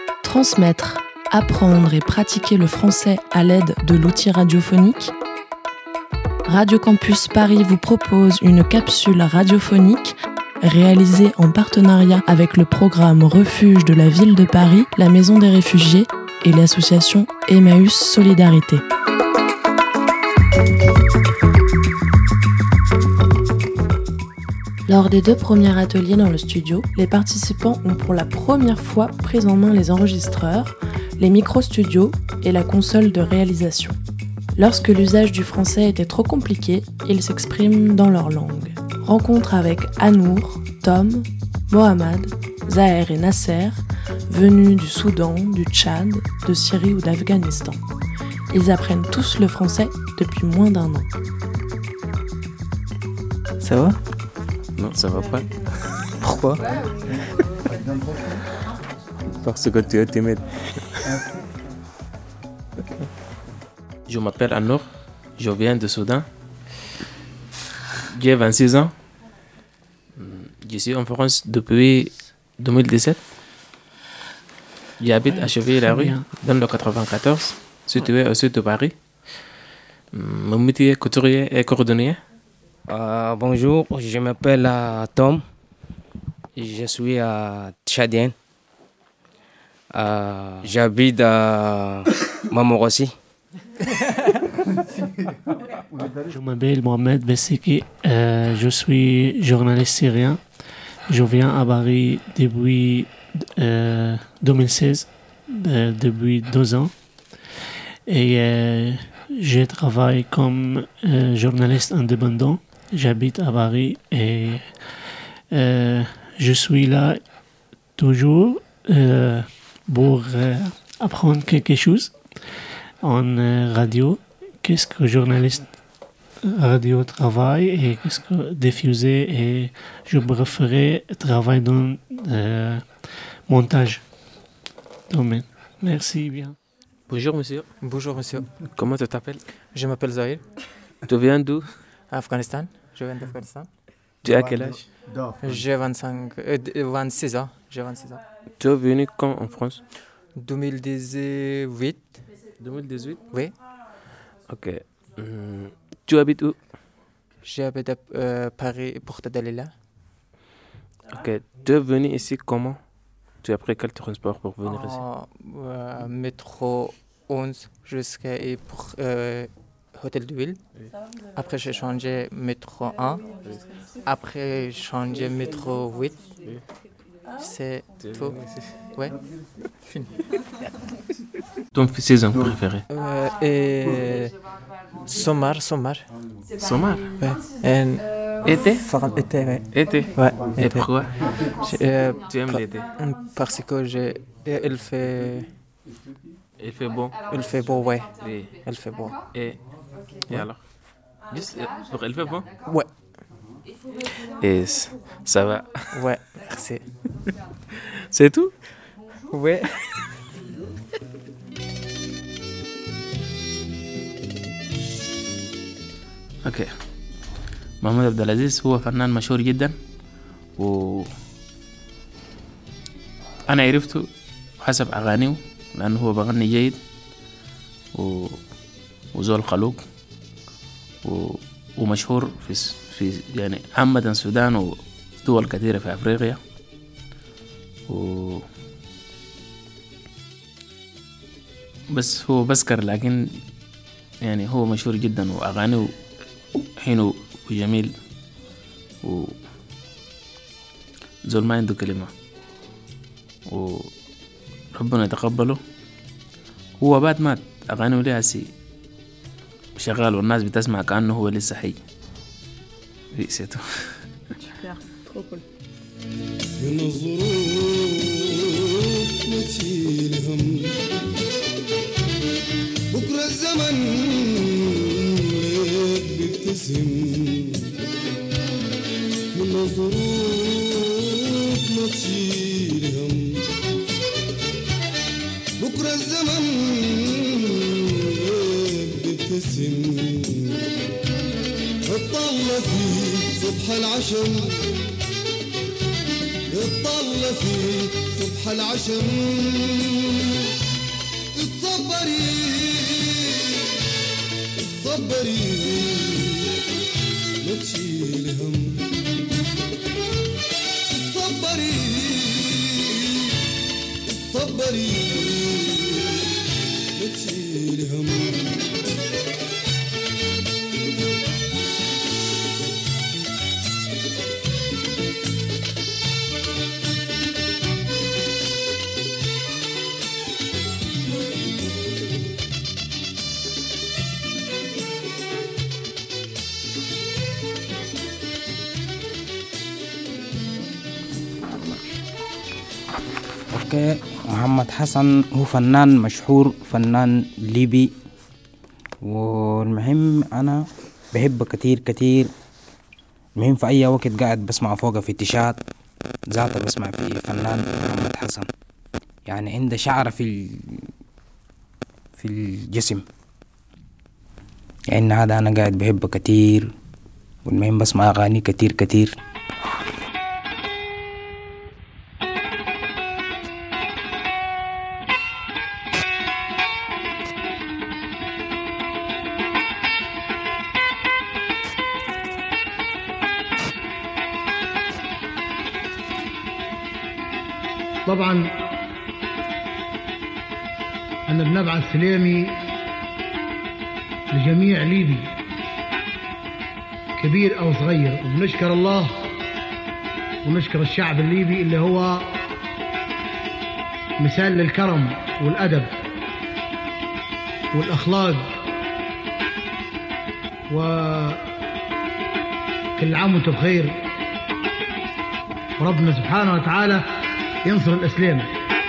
Transmettre, apprendre et pratiquer le français à l'aide de l'outil radiophonique. Radio Campus Paris vous propose une capsule radiophonique réalisée en partenariat avec le programme Refuge de la ville de Paris, la Maison des réfugiés et l'association Emmaüs Solidarité. Lors des 2 premiers ateliers dans le studio, les participants ont pour la première fois pris en main les enregistreurs, les micro-studios et la console de réalisation. Lorsque l'usage du français était trop compliqué, ils s'expriment dans leur langue. Rencontre avec Anour, Tom, Mohamed, Zaher et Nasser, venus du Soudan, du Tchad, de Syrie ou d'Afghanistan. Ils apprennent tous le français depuis moins d'1 an. Ça va ? Non, ça va pas. Pourquoi ? Parce que tu es timide. Je m'appelle Anour, je viens de Soudan. J'ai 26 ans. Je suis en France depuis 2017. J'habite à Chevilly-la-Rue, dans le 94, situé au sud de Paris. Mon métier est couturier et cordonnier. Bonjour, je m'appelle Tom. Je suis tchadien. J'habite à Montmorency. Je m'appelle Mohamed Bessiki. Je suis journaliste syrien. Je viens à Paris depuis 2016, depuis 2 ans. Et je travaille comme journaliste indépendant. J'habite à Paris et je suis là toujours pour apprendre quelque chose en radio. Qu'est-ce que journaliste radio travaille et qu'est-ce que diffuser, et je préférais travailler dans montage domaine. Merci bien. Bonjour monsieur. Bonjour monsieur. Comment tu t'appelles? Je m'appelle Zahir. Tu viens d'où? Afghanistan. Je viens d'Afghanistan. Tu as quel âge? J'ai 26 ans. J'ai 26 ans. Tu es venu quand en France? 2018. 2018? Oui. Ok. Tu habites où? J'habite à Paris, Porte Dalila. Ok. Tu es venu ici comment? Tu as pris quel transport pour venir ici? Métro 11 jusqu'à Hôtel de Ville. Oui. Après, j'ai changé métro 1. Oui. Après, j'ai changé métro 8. Oui. C'est tout. Ouais. Fini. Ton saison préférée? Sommar. Sommar? Ouais. Été? Été, ouais. Été? Ouais. Et été. pourquoi? Tu aimes l'été? Parce que il fait... Il fait bon? Il fait beau, ouais. Oui. Il fait beau. Et alors? Juste pour il fait bon? Ouais. Et ça va? Ouais, merci. C'est tout? Ouais. اوكي. محمود عبد العزيز هو فنان مشهور جدا، و انا عرفته حسب اغانيه لانه هو بغني جيد وزول خلوق ومشهور في يعني عامة السودان ودول كثيرة في افريقيا. بس هو بسكر، لكن يعني هو مشهور جدا واغانيه حلو وجميل وزول ما عنده كلمة، وربنا يتقبله. هو بعد مات أغانيه لها شغال والناس بتسمع كأنه هو لسه حي. سيتو. Super, trop cool. من الظروف ما تشيل هم، بكرة الزمن ليك بيبتسم. من الظروف ما تشيل هم، بكرة الزمن ليك بيبتسم. اطلع في صبح العشم نتطلع في صبح العشم اتصبري اتصبري ما تشيلي هم اتصبري اتصبري ما تشيلي هم اوكي. محمد حسن هو فنان مشهور، فنان ليبي، والمهم انا بحبه كتير كتير. المهم في اي وقت قاعد بسمع فوقه في تشات ذاته بسمع في فنان محمد حسن، يعني عنده شعر في الجسم، يعني هذا انا قاعد بحبه كتير، والمهم بسمع اغاني كتير كتير. طبعا أنا بنبعث سلامي لجميع ليبي كبير أو صغير، وبنشكر الله ونشكر الشعب الليبي اللي هو مثال للكرم والأدب والأخلاق، وكل عام وانتم بخير، وربنا سبحانه وتعالى ينصر الإسلام.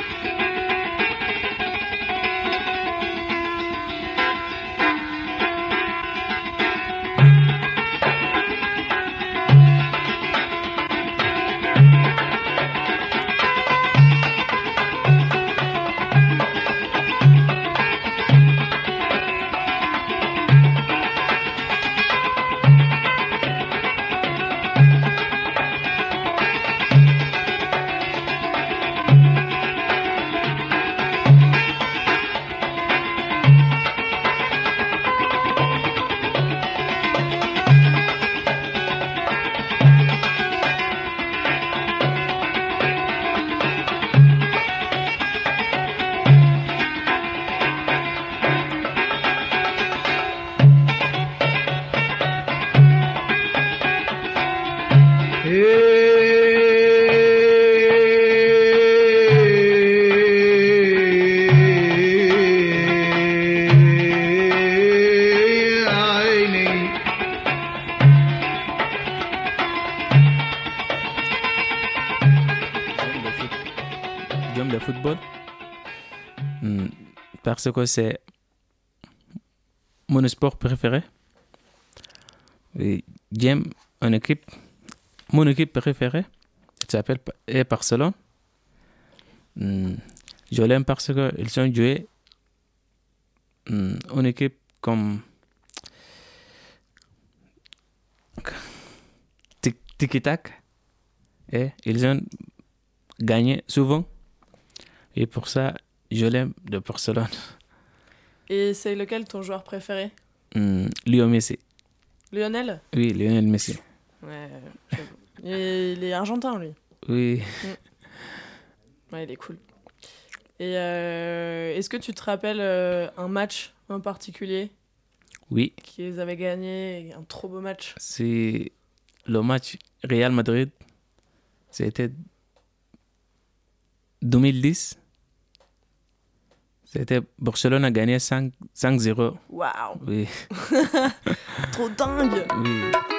J'aime le football parce que c'est mon sport préféré. Et j'aime une équipe, mon équipe préférée, s'appelle Barcelone. Je l'aime parce qu'ils ont joué une équipe comme Tiki-Tac et ils ont gagné souvent. Et pour ça, je l'aime de Barcelone. Et c'est lequel ton joueur préféré? Lionel Messi. Lionel? Oui, Lionel Messi. Ouais, j'avoue. Il est argentin, lui. Oui. Ouais, il est cool. Et est-ce que tu te rappelles un match en particulier? Oui. Qu'ils avaient gagné, un trop beau match. C'est le match Real Madrid. C'était 2010. C'était Barcelone a gagné 5-0. Waouh! Oui. Trop dingue! Oui.